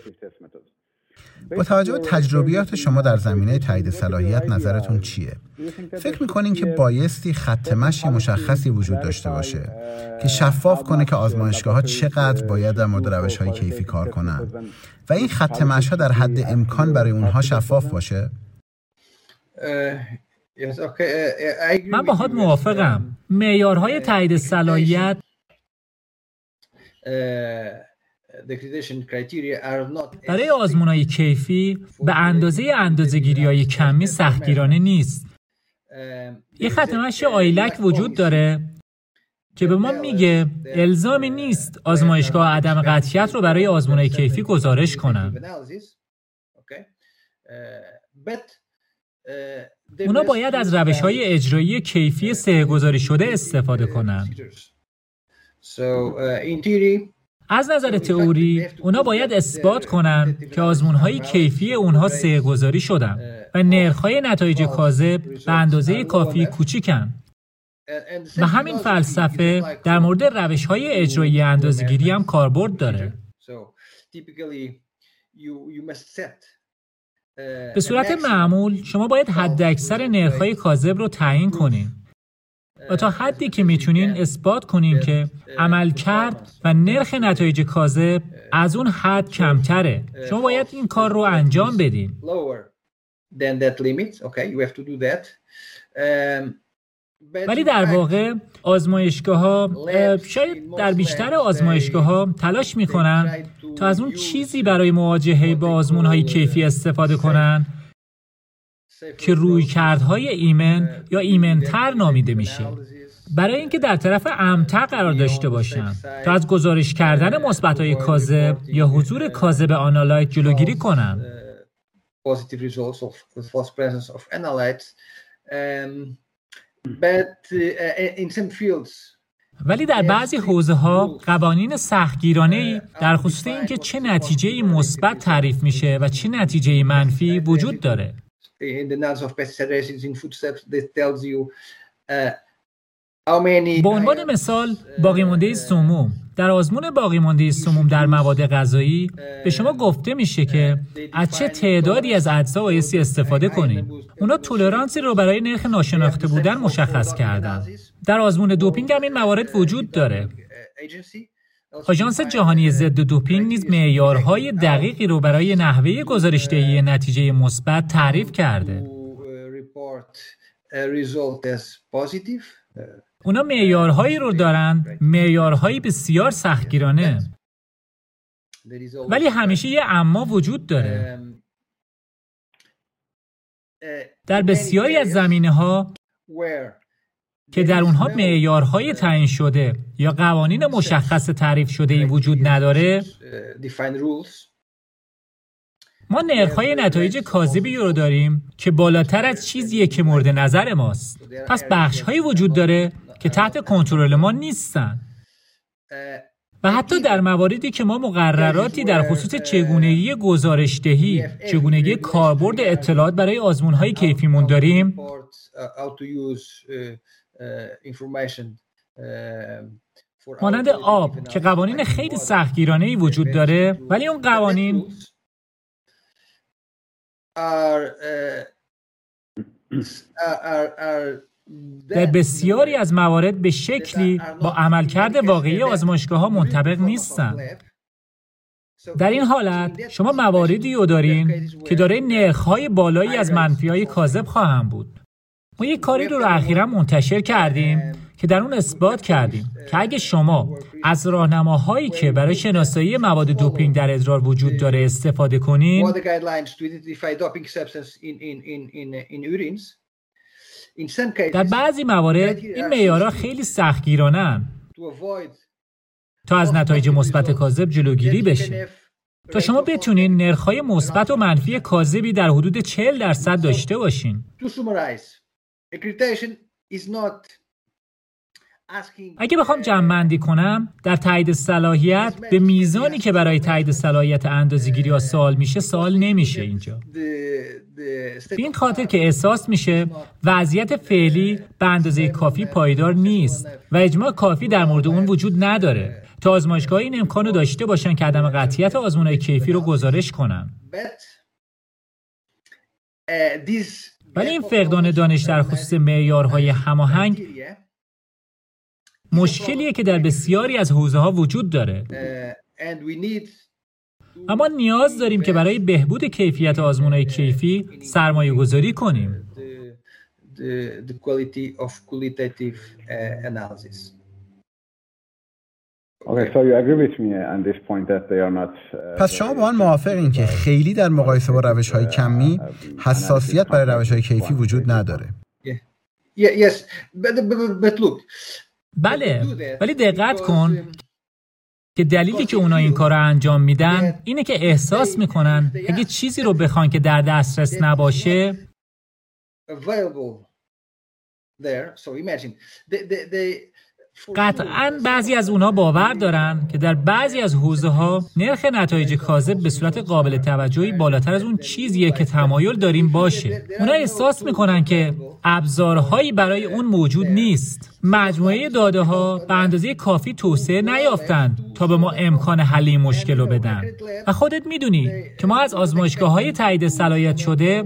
با توجه به تجربیات شما در زمینه تایید صلاحیت نظرتون چیه؟ فکر می‌کنین که بایستی خط مشی مشخصی وجود داشته باشه که شفاف کنه که آزمایشگاه‌ها چقدر باید در مورد روش‌های کیفی کار کنن و این خط مش‌ها در حد امکان برای اونها شفاف باشه؟ من باهات موافقم. معیارهای تایید صلاحیت برای آزمون‌های کیفی به اندازه اندازه‌گیری‌های کمی سختگیرانه نیست. یه خط مشی آیلک وجود داره که به ما میگه الزامی نیست آزمایشگاه عدم قطعیت رو برای آزمون‌های کیفی گزارش کنن. اونا باید از روش‌های اجرایی کیفی صحه‌گذاری شده استفاده کنن. از نظر تئوری، اونا باید اثبات کنن که آزمون‌های کیفی اونها صحه‌گذاری شدن و نرخ‌های نتایج کاذب به اندازه کافی کوچیکن. و همین فلسفه در مورد روش‌های اجرایی اندازه‌گیری هم کاربرد داره. به صورت معمول شما باید حداکثر نرخ‌های کاذب رو تعیین کنین و تا حدی که میتونین اثبات کنین که عملکرد و نرخ نتایج کاذب از اون حد کمتره. شما باید این کار رو انجام بدین. ولی در واقع آزمایشگاه‌ها شاید در بیشتر آزمایشگاه‌ها تلاش می‌کنن تا از اون چیزی برای مواجهه با آزمون‌های کیفی استفاده کنن که رویکردهای ایمن یا ایمن‌تر نامیده میشه، برای اینکه در طرف امن‌تر قرار داشته باشن تا از گزارش کردن مثبت‌های کاذب یا حضور کاذب آنالایت جلوگیری کنن. ولی در بعضی حوزه‌ها قوانین سختگیرانه‌ای در خصوص اینکه چه نتیجه‌ای مثبت تعریف میشه و چه نتیجه‌ای منفی وجود داره. به عنوان مثال باقی مانده سموم. در آزمون باقی مانده سموم در مواد غذایی به شما گفته میشه که از چه تعدادی از اجزا بایستی استفاده کنید. اونا تولرانسی رو برای نرخ ناشناخته بودن مشخص کردن. در آزمون دوپینگ هم این موارد وجود داره. آژانس جهانی ضد دوپینگ نیز معیارهای دقیقی رو برای نحوه گزارش‌دهی نتیجه مثبت تعریف کرده. اونا معیارهایی رو دارن، معیارهایی بسیار سختگیرانه. ولی همیشه یه اما وجود داره. در بسیاری از زمینه‌ها که در اونها معیارهای تعیین شده یا قوانین مشخص تعریف شده‌ای وجود نداره، ما نرخ‌های نتایج کاذبی رو داریم که بالاتر از چیزیه که مورد نظر ماست. پس بخش‌هایی وجود داره که تحت کنترل ما نیستن. و حتی در مواردی که ما مقرراتی در خصوص چگونگی گزارش‌دهی، چگونگی کاربرد اطلاعات برای آزمون‌های کیفیمون داریم، مانند آب که قوانین خیلی سختگیرانه‌ای وجود داره، ولی اون قوانین در بسیاری از موارد به شکلی با عملکرد واقعی آزمایشگاه‌ها منطبق نیستن. در این حالت شما مواردی رو دارین که دارای نرخ‌های بالایی از منفی‌های کاذب خواهند بود. ما یک کاری رو, رو اخیراً منتشر کردیم که در اون اثبات کردیم که اگه شما از راهنماهایی که برای شناسایی مواد دوپینگ در ادرار وجود داره استفاده کنین، در بعضی موارد این معیارها خیلی سختگیرانه‌اند تا از نتایج مثبت کاذب جلوگیری بشه. تا شما بتونین نرخ‌های مثبت و منفی کاذبی در حدود چهل درصد داشته باشین. اگه بخوام جمع‌بندی کنم، در تایید صلاحیت به میزانی که برای تایید صلاحیت اندازه‌گیری ها سوال میشه سوال نمیشه اینجا. به این خاطر که احساس میشه وضعیت فعلی به اندازه کافی پایدار نیست و اجماع کافی در مورد اون وجود نداره تا آزمایشگاه این امکانو داشته باشن که عدم قطعیت آزمون‌های کیفی رو گزارش کنن. ولی این فقدان دانش در خصوص معیارهای هماهنگ مشکلیه که در بسیاری از حوزه‌ها وجود داره. اما نیاز داریم که برای بهبود کیفیت آزمون‌های کیفی سرمایه گذاری کنیم. Okay, so you agree with me on this point that they are not. پس شما با من موافقین که خیلی در مقایسه با روش‌های کمی حساسیت برای روش‌های کیفی وجود نداره. Yes, but but look. بله، ولی دقت کن که دلیلی که اونا این کار رو انجام میدن اینه که احساس میکنن اگه چیزی رو بخوان که در دسترس نباشه قطعاً بعضی از اونا باور دارن که در بعضی از حوزه‌ها نرخ نتایج کاذب به صورت قابل توجهی بالاتر از اون چیزیه که تمایل داریم باشه. اونا احساس میکنن که ابزارهایی برای اون موجود نیست. مجموعه داده‌ها به اندازه کافی توسعه نیافتن تا به ما امکان حل این مشکل رو بدن. و خودت میدونی که ما از آزمایشگاه‌های تایید صلاحیت شده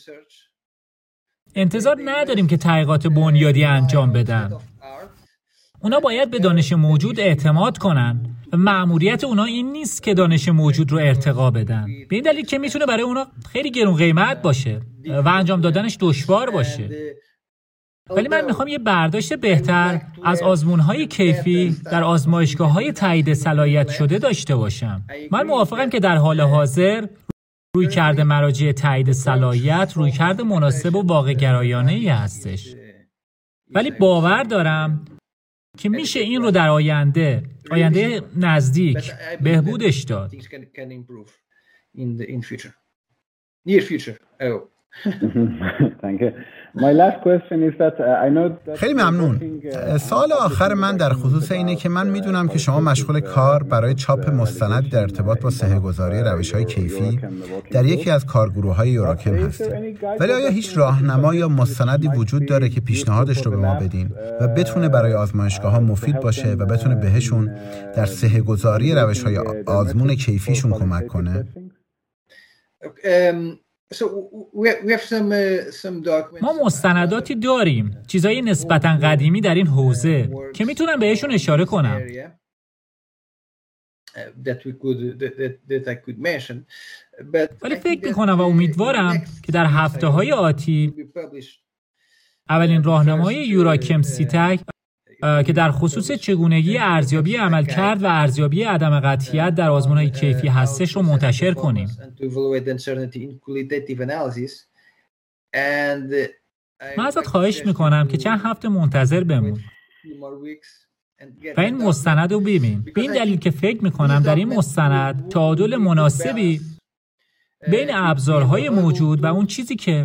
انتظار نداریم که تحقیقات بنیادی انجام بدن. اونا باید به دانش موجود اعتماد کنن و مأموریت اونا این نیست که دانش موجود رو ارتقا بدن. به این دلیل که میتونه برای اونا خیلی گرون قیمت باشه و انجام دادنش دشوار باشه. ولی من میخوام یه برداشت بهتر از آزمون‌های کیفی در آزمایشگاه‌های تایید صلاحیت شده داشته باشم. من موافقم که در حال حاضر رویکرد مراجع تایید صلاحیت رویکرد مناسب و واقع گرایانه‌ای هستش. ولی باور دارم که میشه این رو در آینده آینده نزدیک بهبودش داد. خیلی ممنون. سوال آخر من در خصوص اینه که من میدونم که شما مشغول کار برای چاپ مستندی در ارتباط با صحه‌گذاری روش‌های کیفی در یکی از کارگروه‌های یوراکم هستید. ولی آیا هیچ راهنما یا مستندی وجود داره که پیشنهادش رو به ما بدین و بتونه برای آزمایشگاه‌ها مفید باشه و بتونه بهشون در صحه‌گذاری روش‌های آزمون کیفیشون کمک کنه؟ ما مستنداتی داریم، چیزایی نسبتاً قدیمی در این حوزه که میتونم بهشون اشاره کنم. ولی فکر میکنم و امیدوارم که در هفته‌های آتی اولین راهنمای یوراکم سیتک که در خصوص چگونگی ارزیابی عملکرد و ارزیابی عدم قطعیت در آزمون‌های کیفی هستش رو منتشر کنیم. من ازت خواهش میکنم که چند هفته منتظر بمون و این مستند رو ببین. به این دلیل که فکر میکنم در این مستند تعادل مناسبی بین ابزارهای موجود و اون چیزی که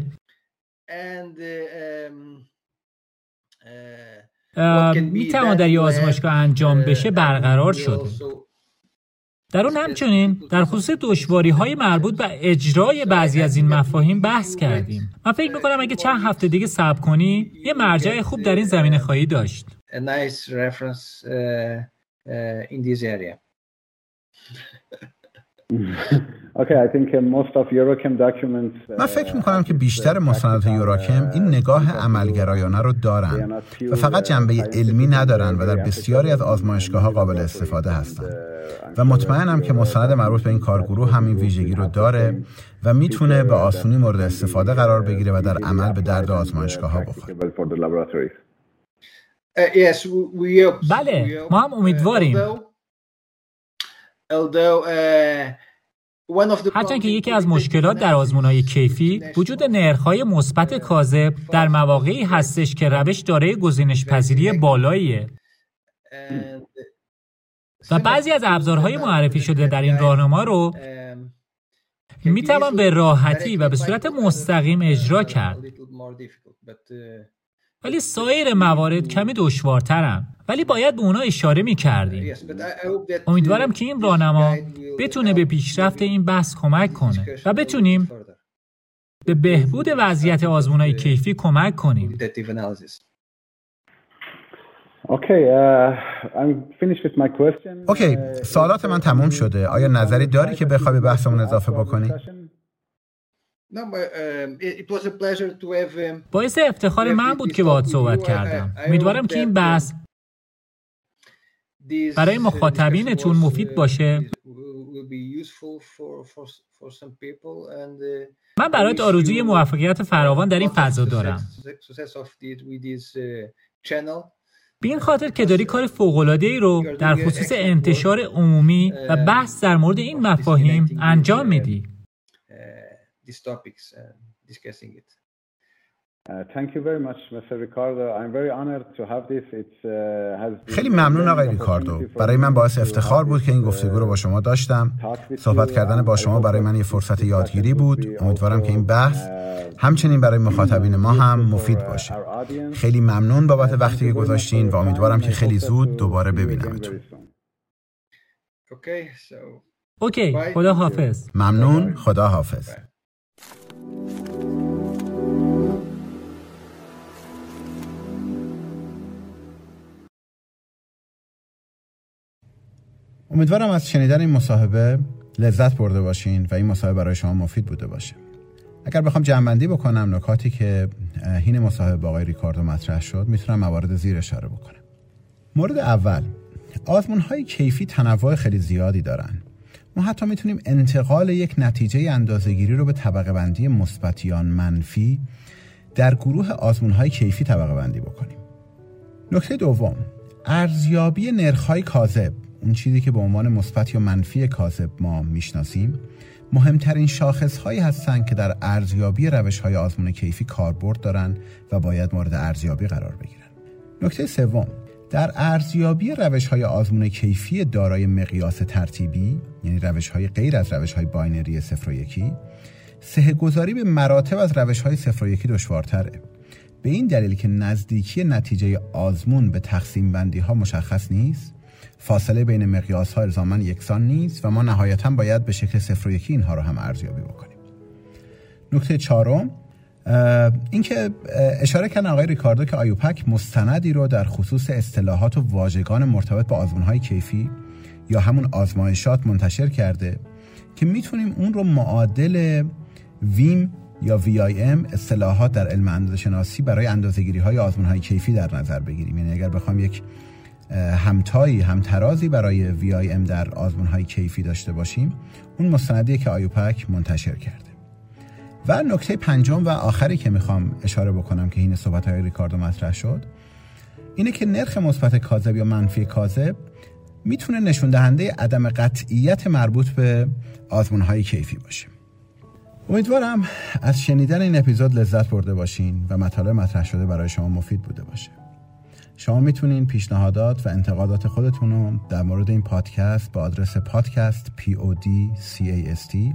میتوان در یه آزمایشگاه انجام بشه برقرار شده. در اون همچنین در خصوص دشواری‌های مربوط به اجرای بعضی از این مفاهیم بحث کردیم. من فکر می‌کنم اگه چند هفته دیگه صبر کنی یه مرجع خوب در این زمینه خواهی داشت. من فکر میکنم که بیشتر مستندات یوراکم این نگاه عملگرایانه رو دارن و فقط جنبه علمی ندارن و در بسیاری از آزمایشگاه‌ها قابل استفاده هستن و مطمئنم که مستند مربوط به این کارگروه همین ویژگی رو داره و میتونه به آسونی مورد استفاده قرار بگیره و در عمل به درد آزمایشگاه‌ها بخوره. بله، ما هم امیدواریم. هرچند که یکی از مشکلات در آزمون‌های کیفی وجود نرخ‌های مثبت کاذب در مواقعی هستش که روش دارای گزینش‌پذیری بالاییه و بعضی از ابزارهای معرفی شده در این راهنما رو میتوان به راحتی و به صورت مستقیم اجرا کرد. ولی سایر موارد کمی دشوارترن، ولی باید به اونا اشاره می‌کردیم. امیدوارم که این راهنما بتونه به پیشرفت این بحث کمک کنه و بتونیم به بهبود وضعیت آزمون‌های کیفی کمک کنیم. اوکی، سوالات من تموم شده. آیا نظری داری که بخوای به بحثمون اضافه بکنی؟ باعث افتخار من بود که باهات صحبت کردم. امیدوارم که این بحث برای مخاطبینتون مفید باشه. من برات آرزوی موفقیت فراوان در این فضا دارم. به این خاطر که داری کار فوق‌العاده‌ای رو در خصوص انتشار عمومی و بحث در مورد این مفاهیم انجام میدی. خیلی ممنون آقای ریکاردو. برای من باعث افتخار بود که این گفتگو رو با شما داشتم. صحبت کردن با شما برای من یه فرصت یادگیری بود. امیدوارم که این بحث همچنین برای مخاطبین ما هم مفید باشه. خیلی ممنون بابت وقتی که گذاشتین و امیدوارم که خیلی زود دوباره ببینمتون. اوکی، خدا حافظ. ممنون، خدا حافظ. امیدوارم از شنیدن این مصاحبه لذت برده باشین و این مصاحبه برای شما مفید بوده باشه. اگر بخوام جمع‌بندی بکنم نکاتی که حین مصاحبه با آقای ریکاردو مطرح شد، میتونم موارد زیر اشاره بکنم. مورد اول، آزمون‌های کیفی تنوع خیلی زیادی دارن. ما حتی میتونیم انتقال یک نتیجه اندازه‌گیری رو به طبقه بندی مثبت یا منفی در گروه آزمون‌های کیفی طبقه بندی بکنیم. نکته دوم، ارزیابی نرخ‌های کاذب، اون چیزی که به عنوان مثبت یا منفی کاذب ما میشناسیم، مهمترین شاخص‌هایی هستند که در ارزیابی روش‌های آزمون کیفی کاربرد دارن و باید مورد ارزیابی قرار بگیرن. نکته سوم، در ارزیابی روش‌های آزمون کیفی دارای مقیاس ترتیبی، یعنی روش‌های غیر از روش‌های باینری صفر و یکی، سه‌گذاری به مراتب از روش‌های صفر و یکی دشوارتره. به این دلیل که نزدیکی نتیجه آزمون به تقسیم بندی ها مشخص نیست، فاصله بین مقیاس ها الزاماً یکسان نیست و ما نهایتاً باید به شکل صفر و یکی اینها رو هم ارزیابی بکنیم. نکته چهارم، اینکه اشاره کردن آقای ریکاردو که آیوپک مستندی رو در خصوص اصطلاحات و واژگان مرتبط با آزمون‌های کیفی یا همون آزمایشات منتشر کرده که میتونیم اون رو معادل ویم یا وی آی ام اصطلاحات در علم اندازه‌شناسی برای اندازه‌گیری‌های آزمون‌های کیفی در نظر بگیریم. یعنی اگر بخوام یک همتایی همترازی برای وی آی ام در آزمون‌های کیفی داشته باشیم، اون مستندیه که آیوپک منتشر کرده. و نکته پنجم و آخری که میخوام اشاره بکنم که این صحبت‌های ریکاردو مطرح شد، اینه که نرخ مثبت کاذب یا منفی کاذب میتونه نشون دهنده عدم قطعیت مربوط به آزمون‌های کیفی باشه. امیدوارم از شنیدن این اپیزود لذت برده باشین و مطالب مطرح شده برای شما مفید بوده باشه. شما میتونین پیشنهادات و انتقادات خودتون رو در مورد این پادکست با آدرس پادکست پی او دی سی ای اس تی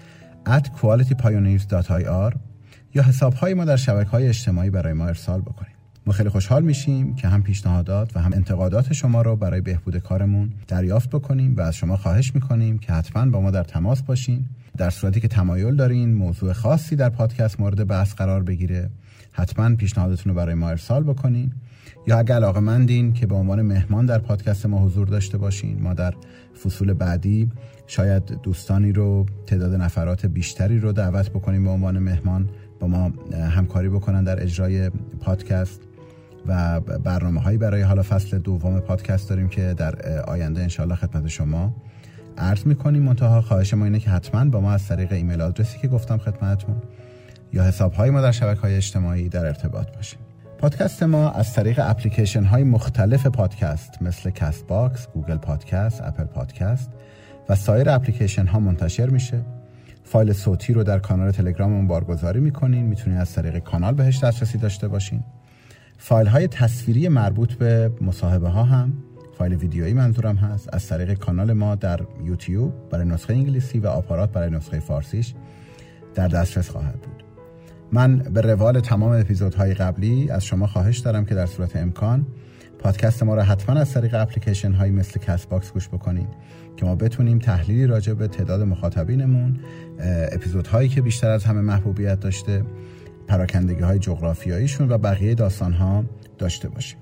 ات کوالیتی پایونیرز دات آی آر یا حساب‌های ما در شبکه‌های اجتماعی برای ما ارسال بکنید. ما خیلی خوشحال میشیم که هم پیشنهادات و هم انتقادات شما رو برای بهبود کارمون دریافت بکنیم و از شما خواهش میکنیم که حتما با ما در تماس باشین. در صورتی که تمایل دارین موضوع خاصی در پادکست مورد بحث قرار بگیره، حتما پیشنهادتون رو برای ما ارسال بکنین. یا اگه علاقه‌مندین که به عنوان مهمان در پادکست ما حضور داشته باشین، ما در فصول بعدی شاید دوستانی رو، تعداد نفرات بیشتری رو دعوت بکنیم به عنوان مهمان با ما همکاری بکنن در اجرای پادکست و برنامه‌هایی برای حالا فصل دوم پادکست داریم که در آینده انشالله خدمت شما عرض می‌کنیم. منتها خواهش ما اینه که حتما با ما از طریق ایمیل آدرسی که گفتم خدمتتون یا حساب‌های ما در شبکه‌های اجتماعی در ارتباط باشین. پادکست ما از طریق اپلیکیشن های مختلف پادکست مثل کست باکس، گوگل پادکست، اپل پادکست و سایر اپلیکیشن ها منتشر میشه. فایل صوتی رو در کانال تلگراممون بارگذاری میکنین، میتونین از طریق کانال بهش دسترسی داشته باشین. فایل های تصویری مربوط به مصاحبه ها هم، فایل ویدیویی منظورم هست، از طریق کانال ما در یوتیوب برای نسخه انگلیسی و آپارات برای نسخه فارسیش در دسترس خواهد بود. من به روال تمام اپیزودهای قبلی از شما خواهش دارم که در صورت امکان پادکست ما را حتما از طریق اپلیکیشن هایی مثل کست باکس گوش بکنین که ما بتونیم تحلیلی راجع به تعداد مخاطبینمون، اپیزودهایی که بیشتر از همه محبوبیت داشته، پراکندگی های جغرافیاییشون و بقیه داستان ها داشته باشیم.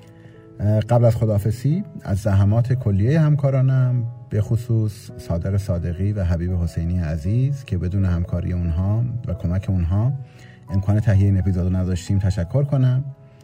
قبل از خداحافظی از زحمات کلیه همکارانم به خصوص صادق صادقی و حبیب حسینی عزیز که بدون همکاری اونها و کمک اونها امکان تهیه این اپیزودو نداشتیم تشکر کنم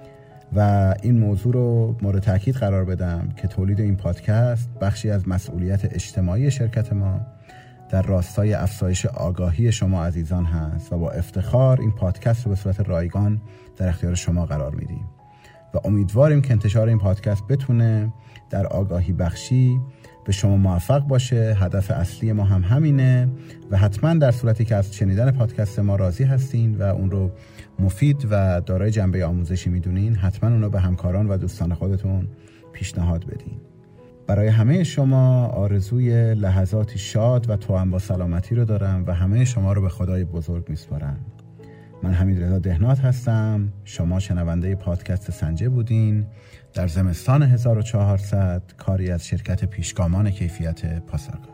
و این موضوع رو مورد تاکید قرار بدم که تولید این پادکست بخشی از مسئولیت اجتماعی شرکت ما در راستای افزایش آگاهی شما عزیزان هست و با افتخار این پادکست رو به صورت رایگان در اختیار شما قرار میدیم و امیدواریم که انتشار این پادکست بتونه در آگاهی بخشی به شما موفق باشه. هدف اصلی ما هم همینه و حتما در صورتی که از شنیدن پادکست ما راضی هستین و اون رو مفید و دارای جنبه آموزشی میدونین، حتما اون رو به همکاران و دوستان خودتون پیشنهاد بدین. برای همه شما آرزوی لحظاتی شاد و توأم با سلامتی رو دارم و همه شما رو به خدای بزرگ میسپارم. من حمیدرضا دهنات هستم. شما شنونده پادکست سنجه بودین در زمستان هزار و چهارصد، کاری از شرکت پیشگامان کیفیت پاسارگاد.